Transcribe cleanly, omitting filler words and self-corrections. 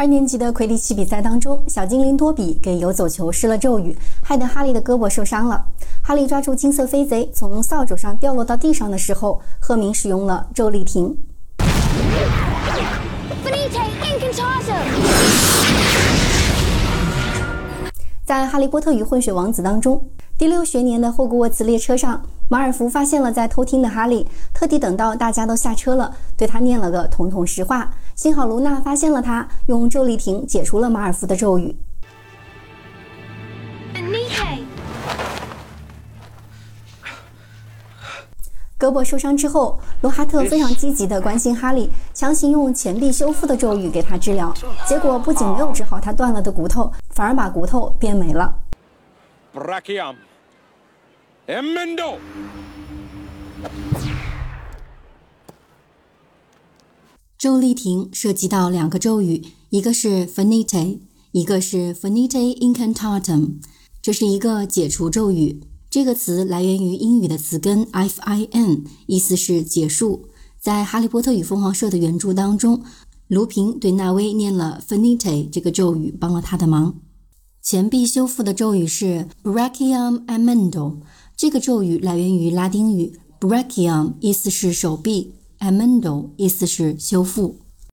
2年级的魁地奇比赛当中，小精灵多比给游走球施了咒语，害得哈利的胳膊受伤了。哈利抓住金色飞贼从扫帚上掉落到地上的时候，赫明使用了咒力瓶。在《哈利波特与混血王子》当中，第6学年的霍格沃茨列车上，马尔福发现了在偷听的哈利，特地等到大家都下车了，对他念了个统统实话。幸好卢娜发现了他，用咒力瓶解除了马尔福的咒语。胳膊受伤之后，罗哈特非常积极地关心哈利，强行用钱币修复的咒语给他治疗，结果不仅没有治好他断了的骨头，反而把骨头变没了。 Brachiam Emendo。 咒力瓶涉及到2个咒语，一个是 Finite， 一个是 Finite Incantatem， 这是一个解除咒语。这个词来源于英语的词根 fin， 意思是结束。在哈利波特与凤凰社的原著当中，卢平对纳威念了 Finite 这个咒语，帮了他的忙。钱币修复的咒语是 Brachiam Emendo， 这个咒语来源于拉丁语 Brachiam， 意思是手臂， Emendo 意思是修复。